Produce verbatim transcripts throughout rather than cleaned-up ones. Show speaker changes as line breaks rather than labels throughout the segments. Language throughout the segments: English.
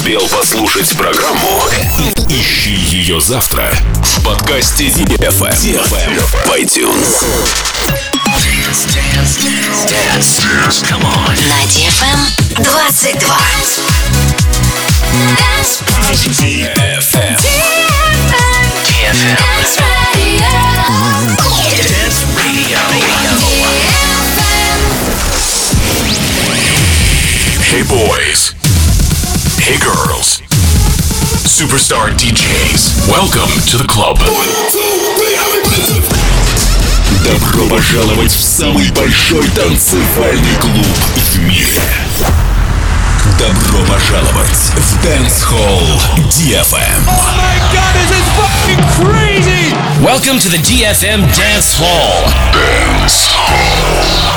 успел послушать программу, ищи ее завтра в подкасте ди эф эм в iTunes.
Dance, dance, dance, dance, come on. На ди эф эм двадцать два. Dance
ди эф эм.
ди эф эм. Dance Radio. Dance Radio.
Hey boys. Hey girls. Superstar ди джейс. Welcome to the club. Добро пожаловать в самый большой танцевальный клуб в мире. Добро пожаловать в Dance Hall ди эф эм.
Oh my god, this is fucking crazy!
Welcome to the ди эф эм Dance Hall.
Dance Hall.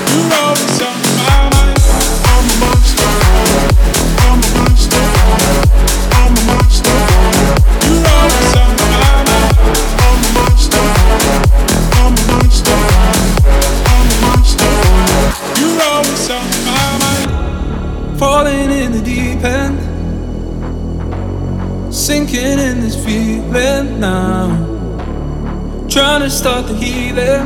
Falling in the deep end, sinking in this feeling now. Trying to start the healing,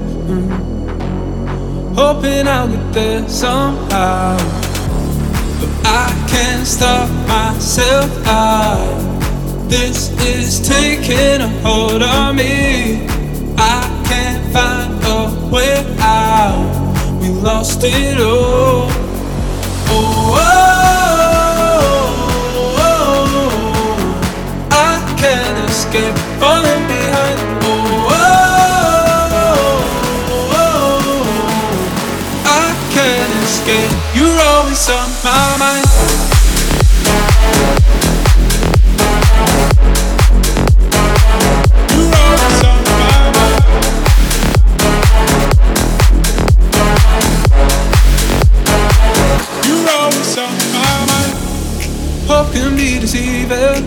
mm. Hoping I'll get there somehow. But I can't stop myself out. This is taking a hold on me. I can't find a way out. We lost it all. Oh, oh, oh, oh, I can't escape falling behind. Oh, oh, oh, oh, I can't escape. You're always on my mind. You're always on my mind. You're always on my mind. Hope can be deceiving.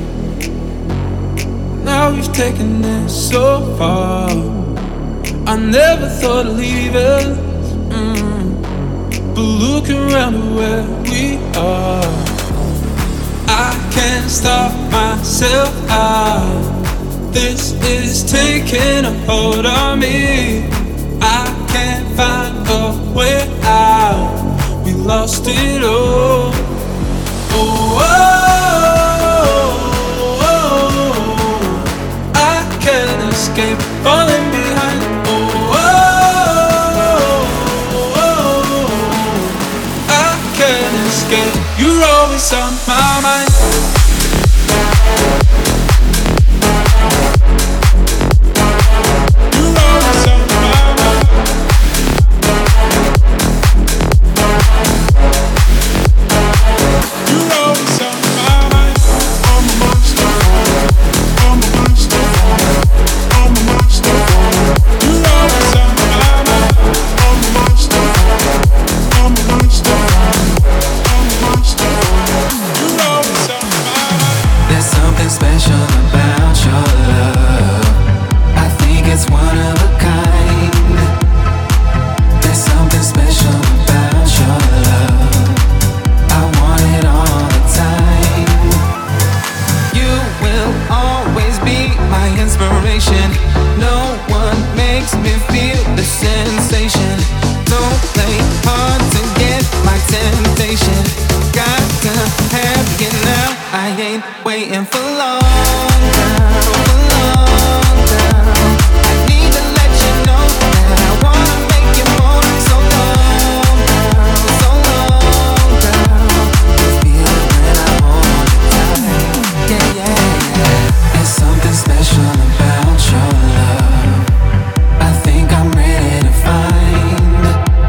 Now we've taken this so far. I never thought of leaving, mm. But look around at where we are. I can't stop myself out. This is taking a hold on me. I can't find a way out. We lost it all. Oh, oh, oh, oh, I can't escape falling behind. Oh, oh, oh, I can't escape. You're always on my mind. You're always on my mind. You're always on my mind. I'm a monster. I'm a monster. I'm a monster. You're always on my mind. I'm a monster. I'm a monster. I'm a monster. You're always on my mind.
There's something special about your love. I think it's one of a kind. There's something special about your love. I want it all the time. You will always be my inspiration. No one makes me feel the sensation. Don't play hard to get my temptation. Got to have you now. I ain't waiting for long now, for long now. I need to let you know that I wanna make you more. So long now, so long now. You feel it when I hold you tight. Yeah, yeah, yeah. There's something special about your love. I think I'm ready to find.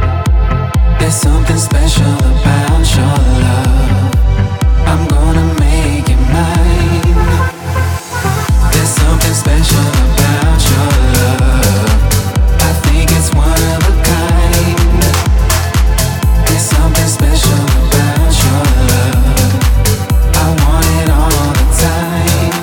There's something special about your love. I'm gonna make it mine. There's something special about your love. I think it's one of a kind. There's something special about your love. I want it all the time.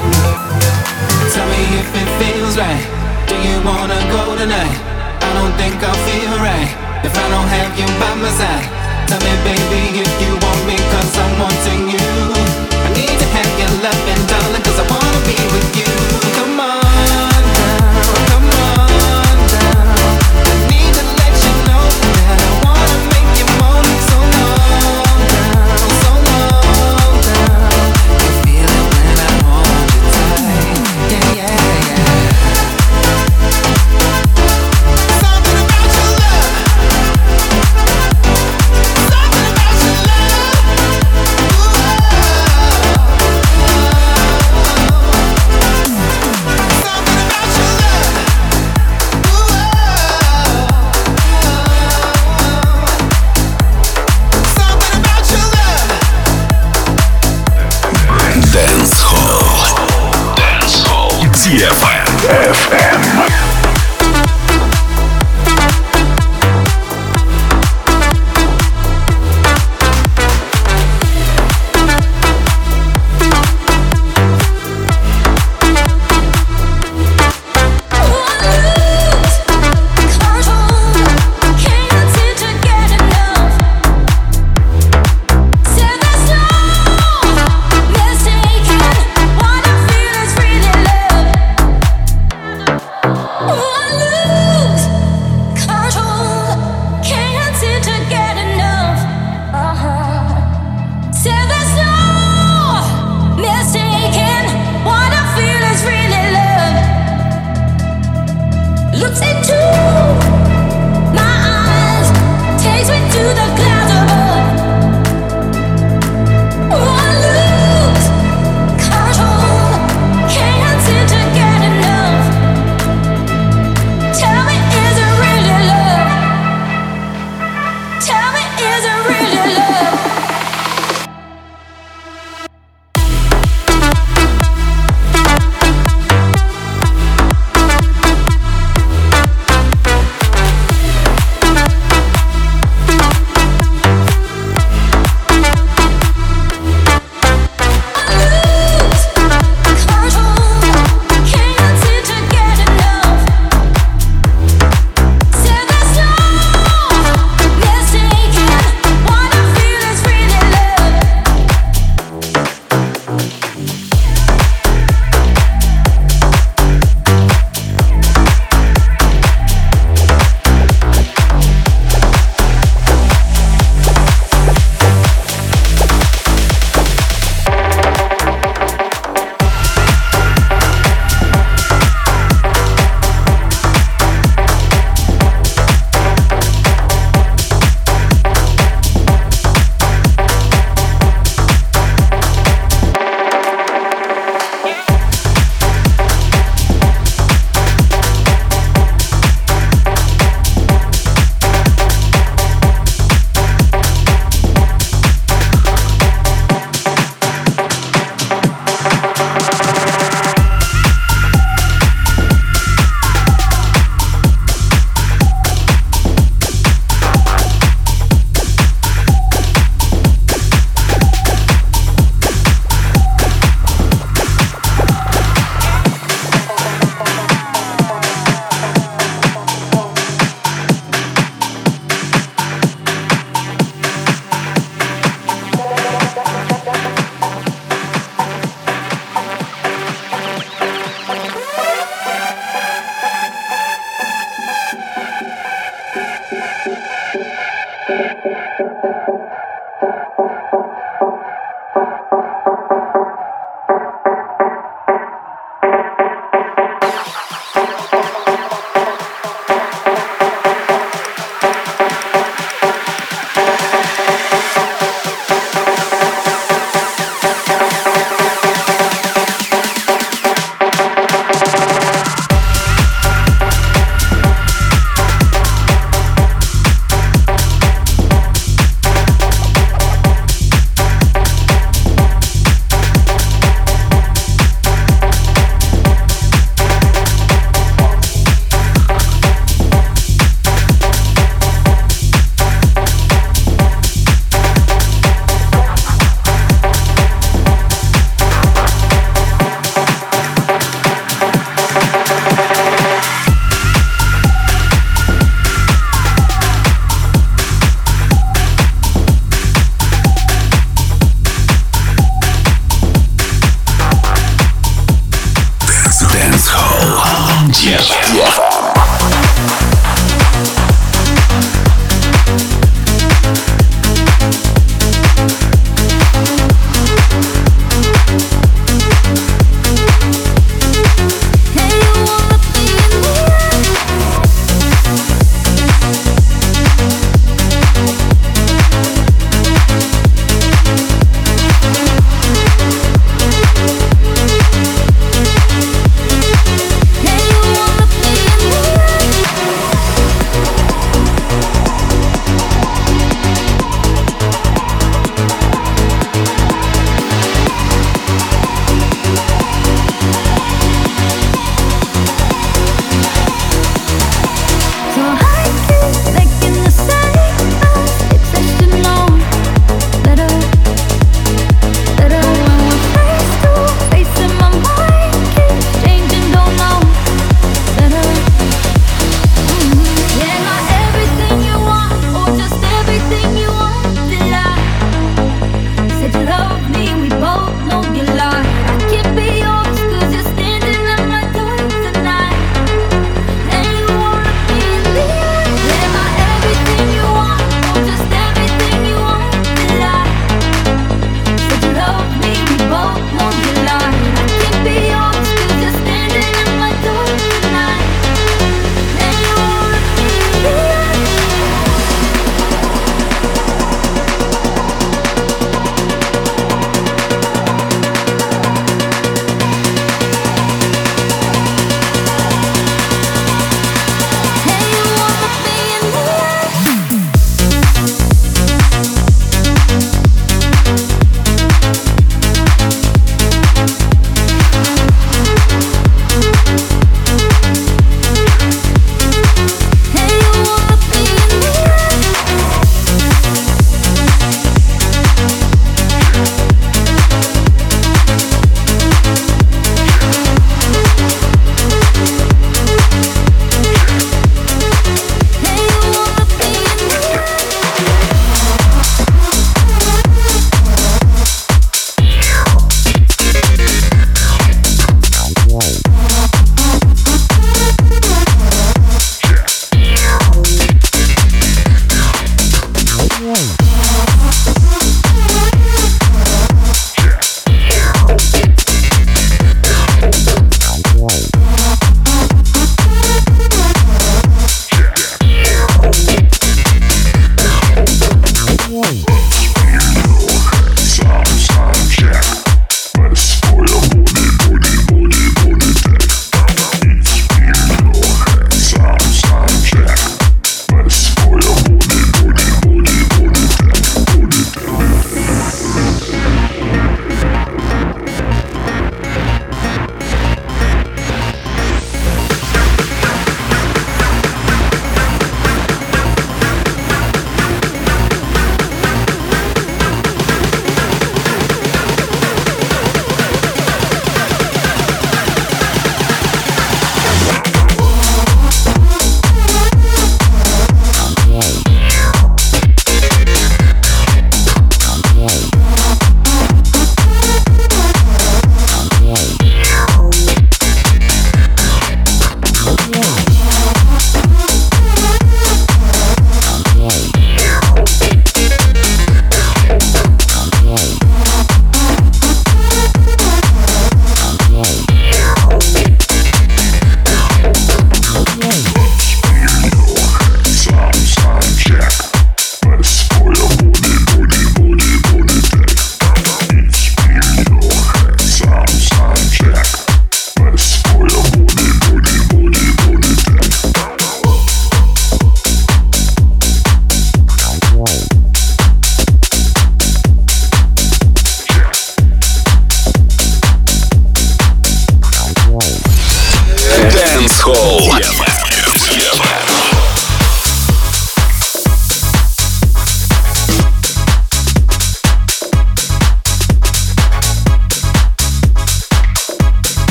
Tell me if it feels right. Do you wanna go tonight? I don't think I'll feel right if I don't have you by my side. Tell me, baby, if you want me, cause I'm wanting you. I need to have your loving, darling, cause I wanna be with you. Come on now, come on now. I need to let you know that I wanna make you moan. So long now, so long now. You feel it when I hold you tight. Yeah, yeah, yeah. Something about your love. Something about your love.
эф эм.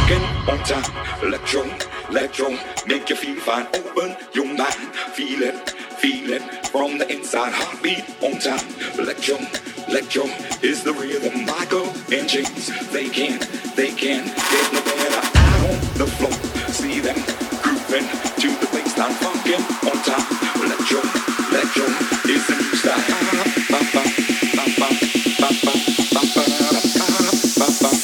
funkin' on time. Electro, electro, make you feel fine. Open your mind, feel it, feel it from the inside. Heartbeat on time. Electro, electro is the rhythm. Michael and James, they can, they can get no better. Out on the floor, see them grooving to the baseline. Funkin' on time. Electro, electro is the new style. Ba, ba, ba, ba, ba, ba, ba, ba, ba, ba, ba.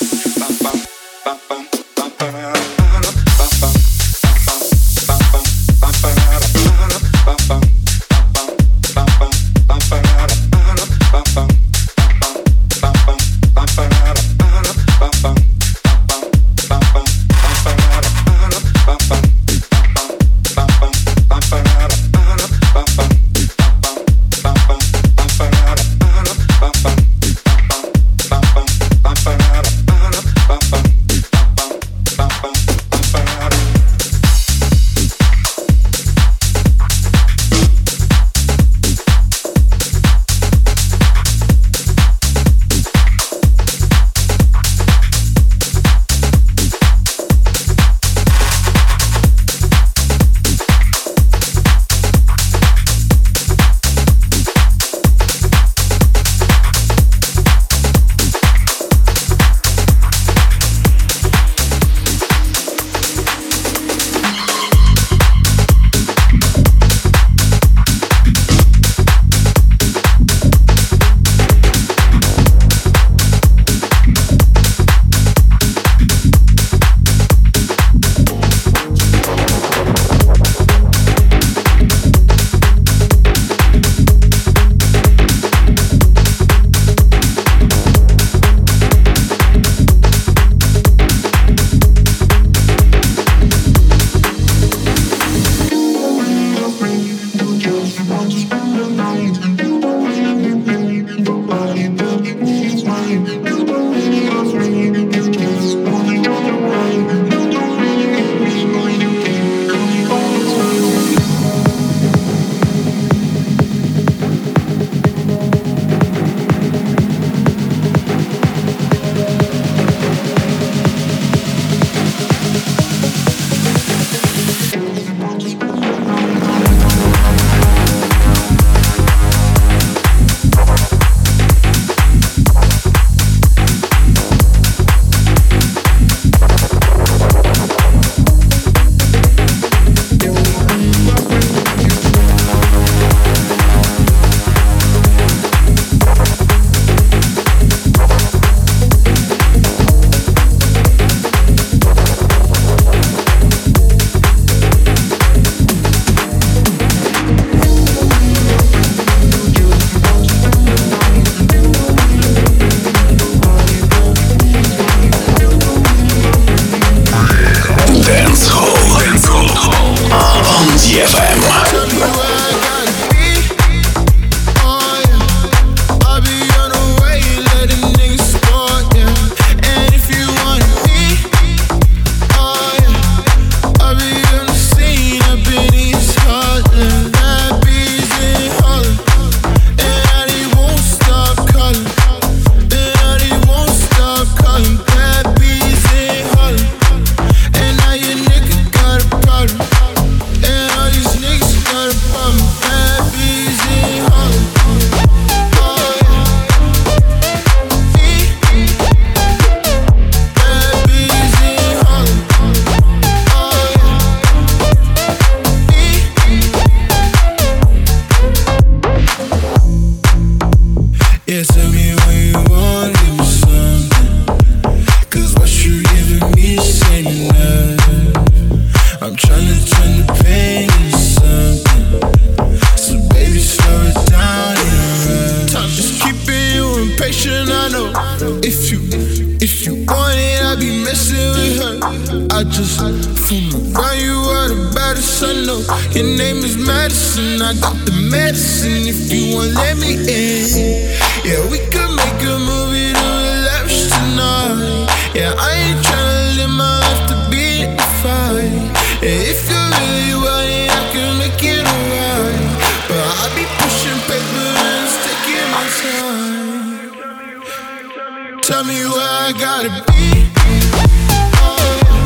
I just fool around, you are the baddest I know. Your name is Madison, I got the medicine if you won't let me in. Yeah, we could make a movie to relax tonight. Yeah, I ain't tryna live my life to be in the fight. Yeah, if you really want it, I can make it alright. But I be pushing paper and it's taking my time. Tell me where I gotta be. Oh, yeah.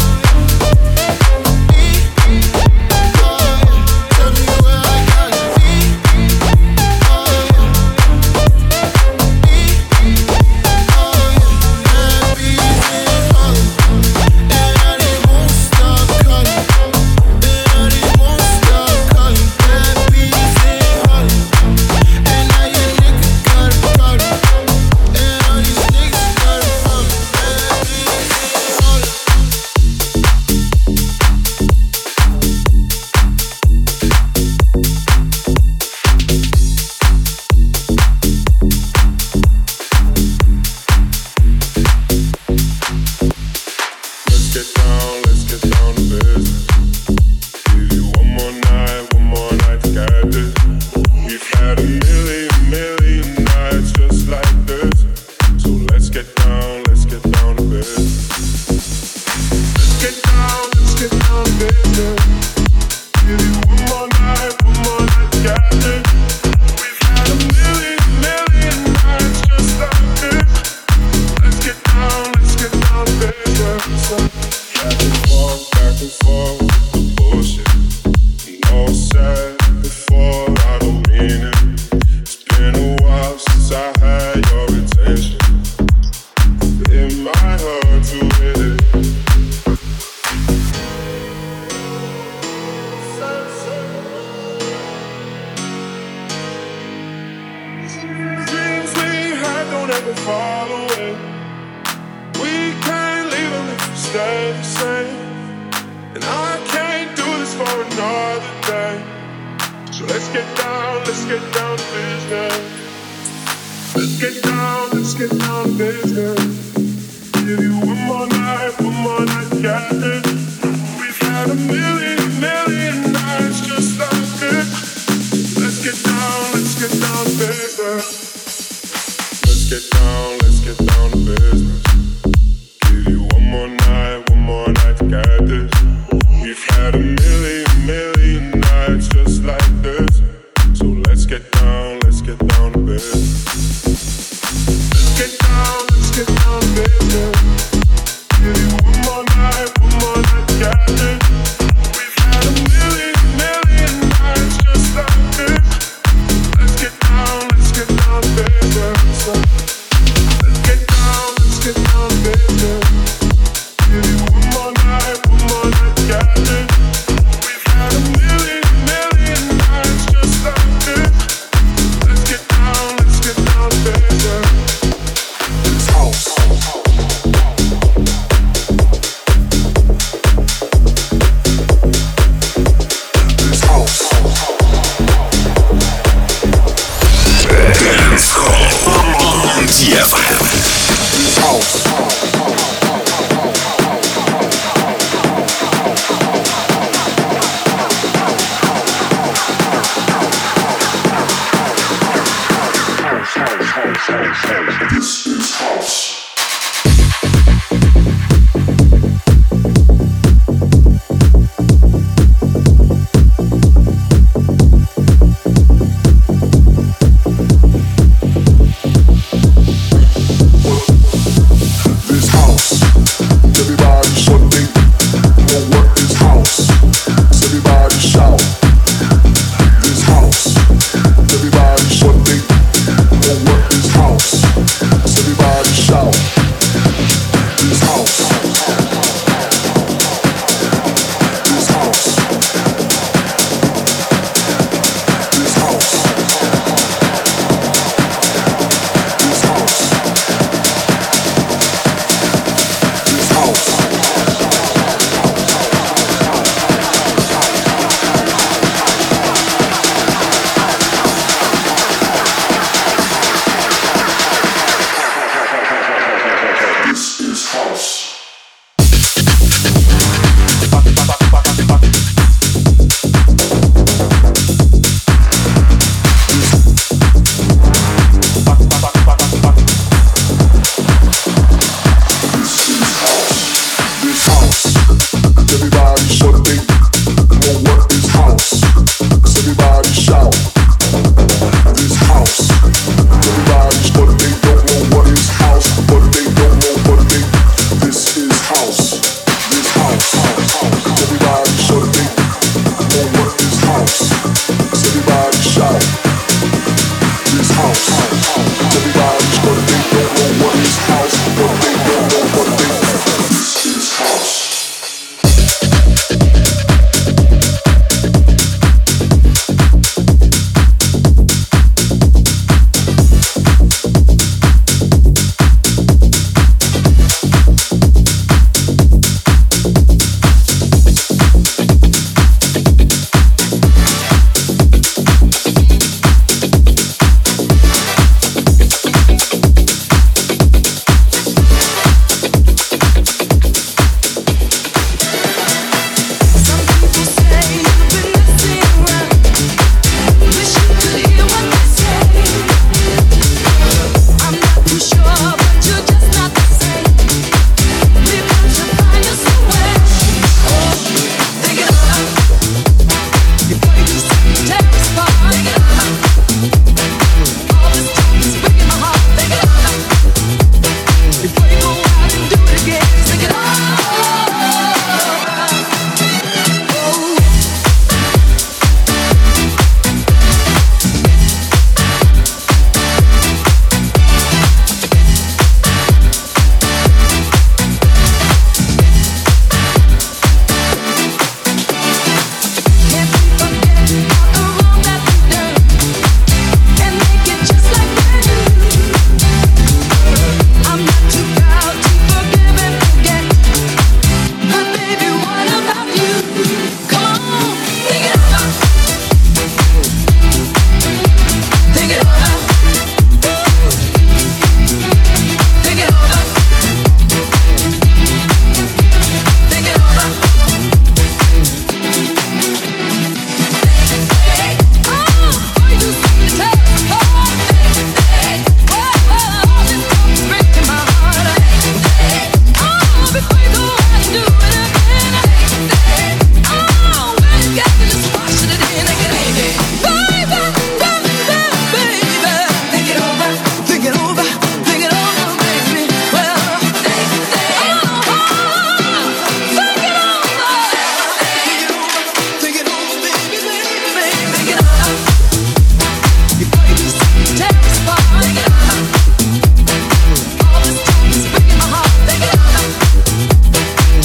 One more night, one more night, got it.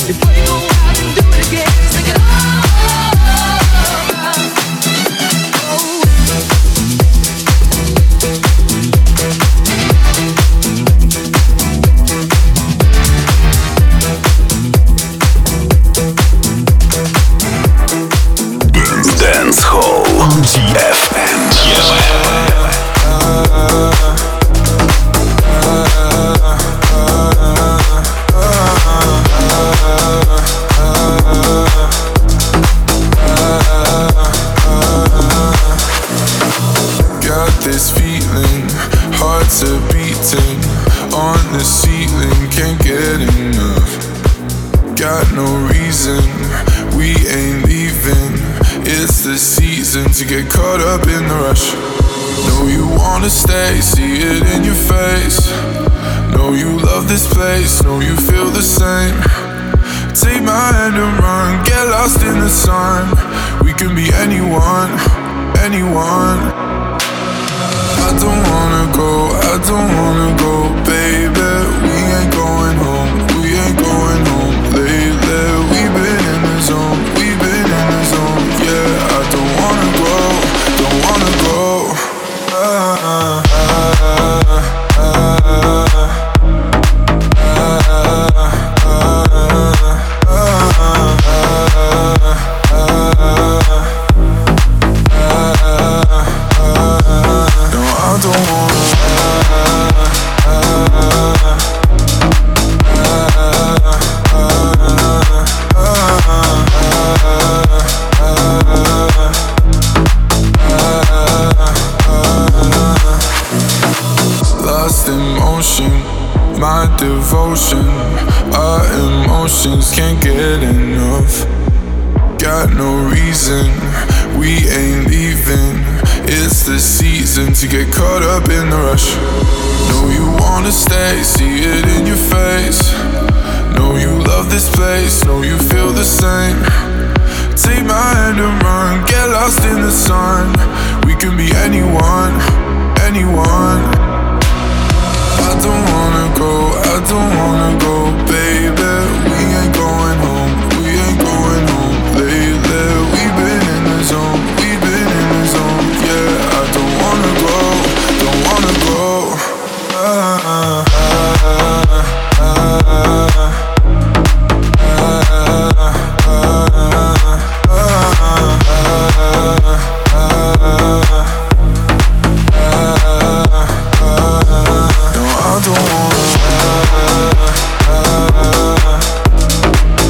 I don't wanna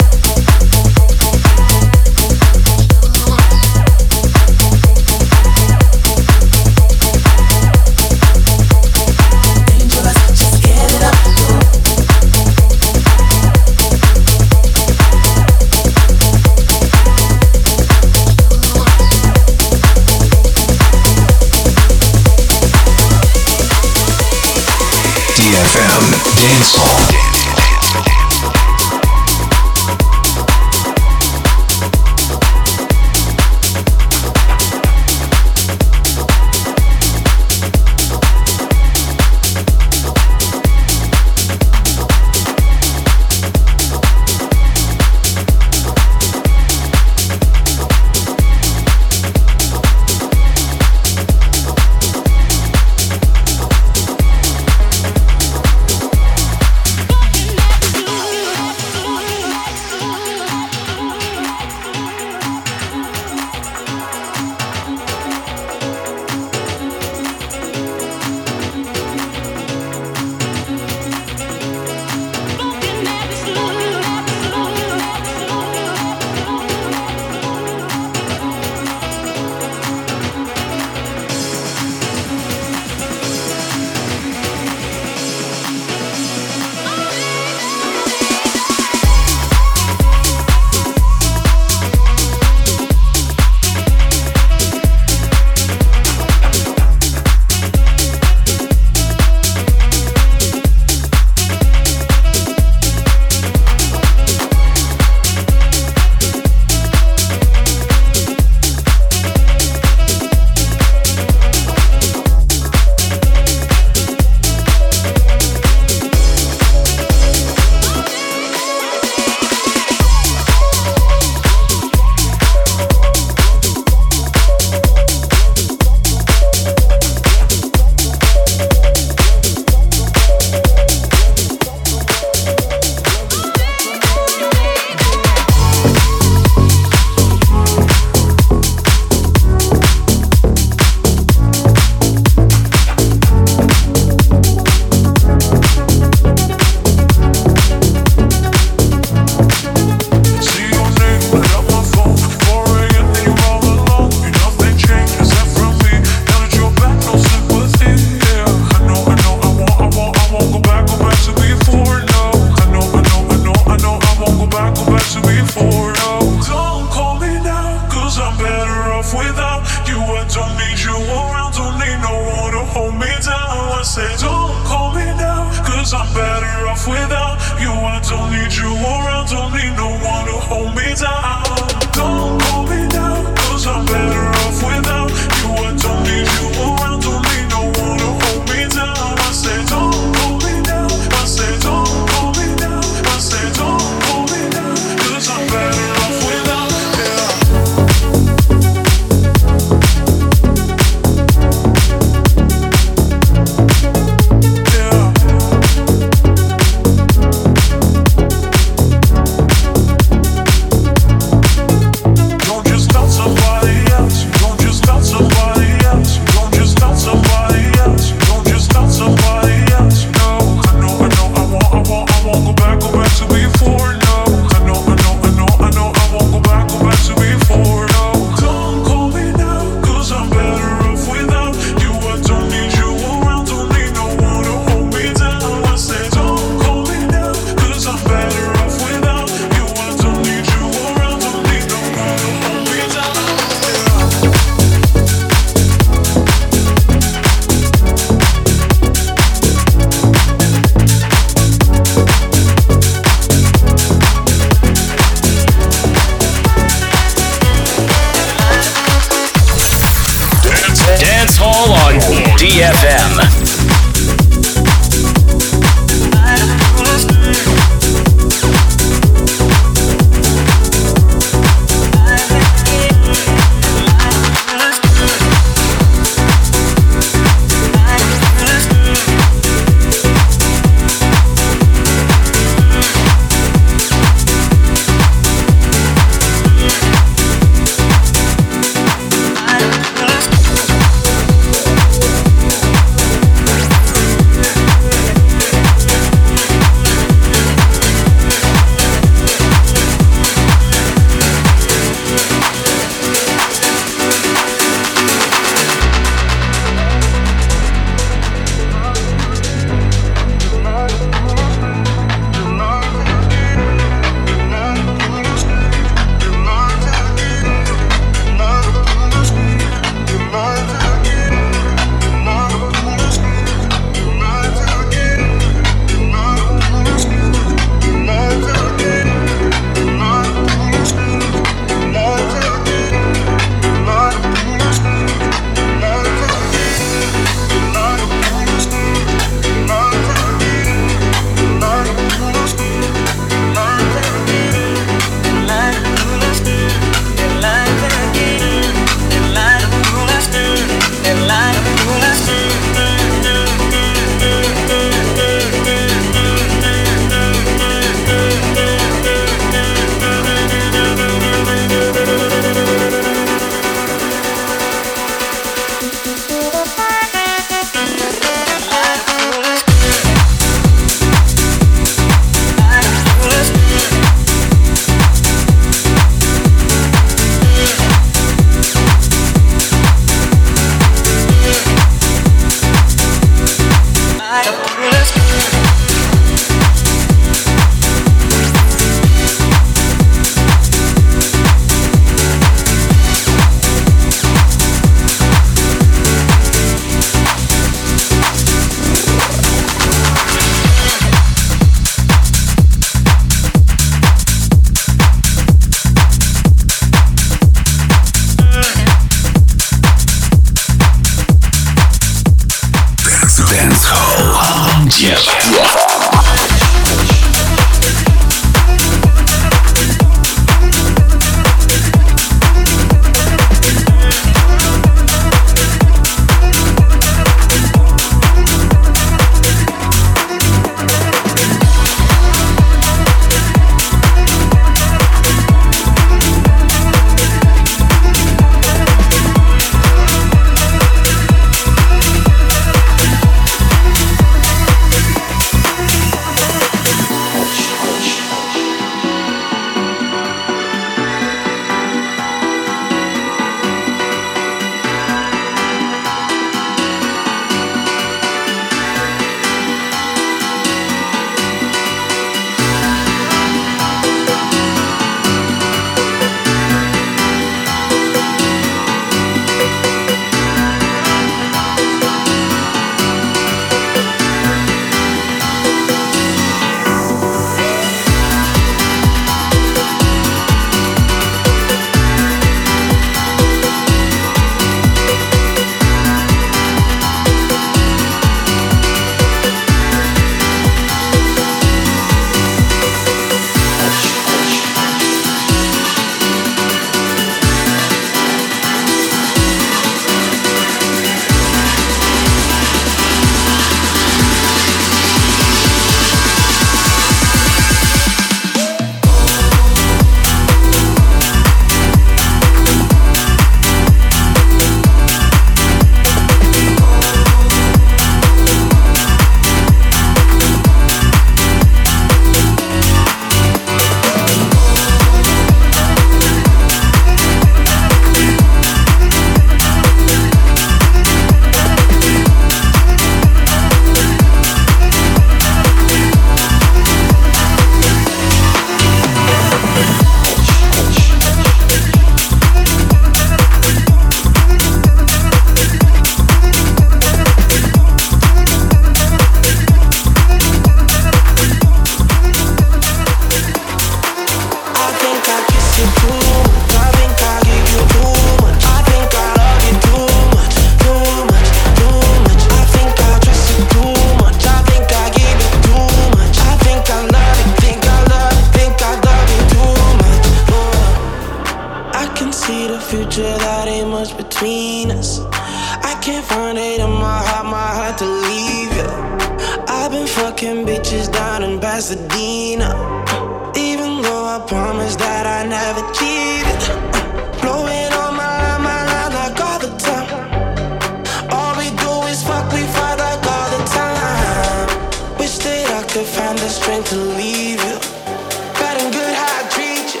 can see the future, that ain't much between us. I can't find it in my heart, my heart to leave you. I've been fucking bitches down in Pasadena, even though I promised that I never cheated. Blowing on my line, my line like all the time. All we do is fuck, we fight like all the time. Wish that I could find the strength to leave you. Bad and good how I treat you.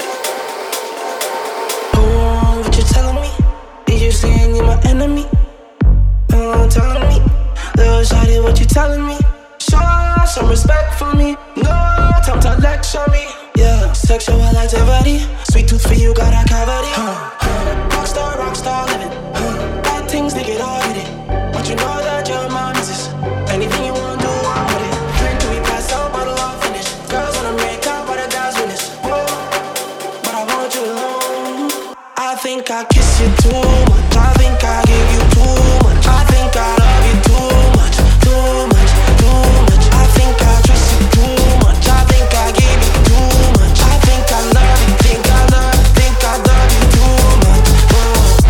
Oh, what you telling me? Is you saying you're my enemy? Oh, telling me, little shawty, what you telling me? Show some respect for me. No time to lecture me. Yeah, sexual activity. Sweet tooth for you, got a cavity. Huh, huh. Rockstar, rockstar living. Huh. Bad things, they get all in it. But you know that you're my missus. Anything you want, do, I'm with it. Drink till we pass out, bottle all finish. Girls wanna make out, but the guys win this. Whoa, but I want you alone. I think I kiss you too much. I think I give you too much. I think I love you too much, too much, too much. I think I trust you too much. I think I give you too much. I think I love you, think I love, think I love you too much. Oh.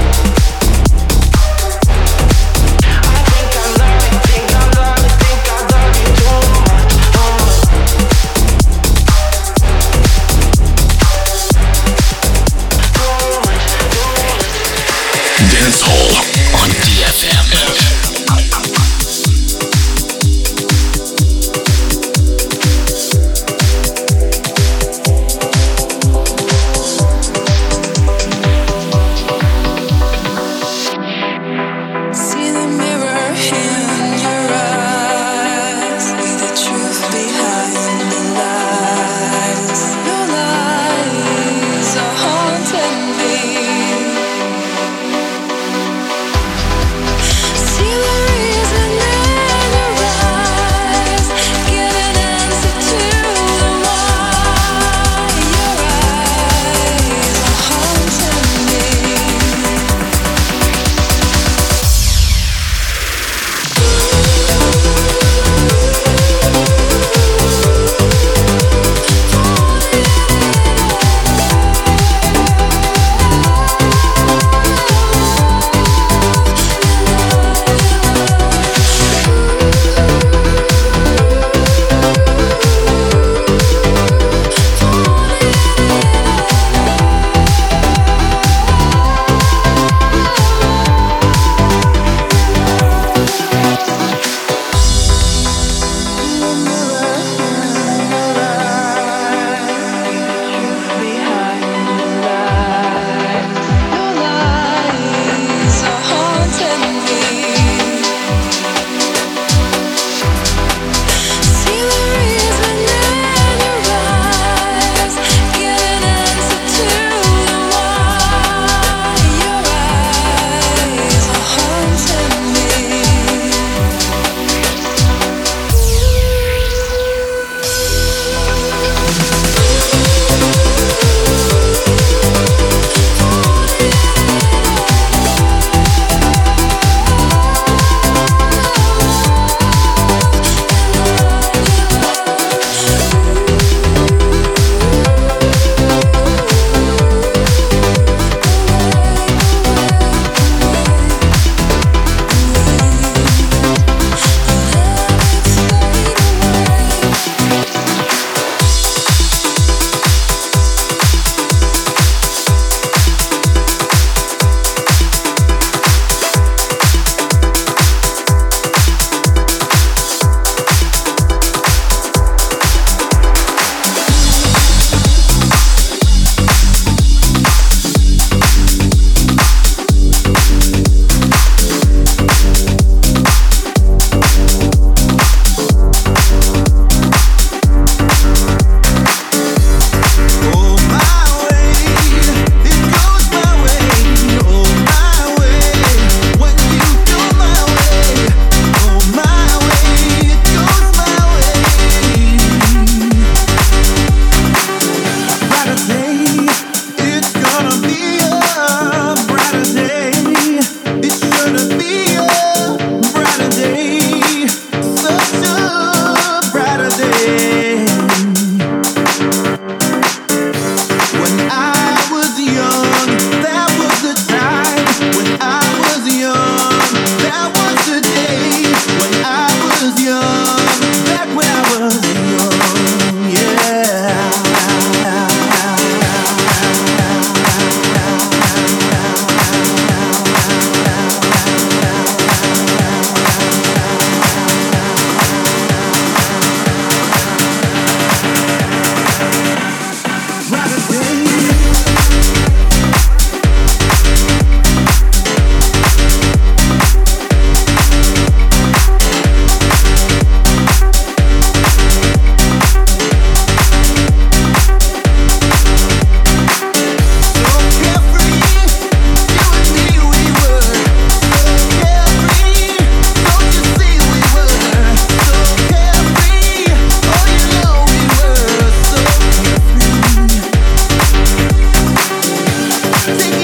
I think I love you, think I love you, think I love you too much. Oh.
Dance Hall on D F M.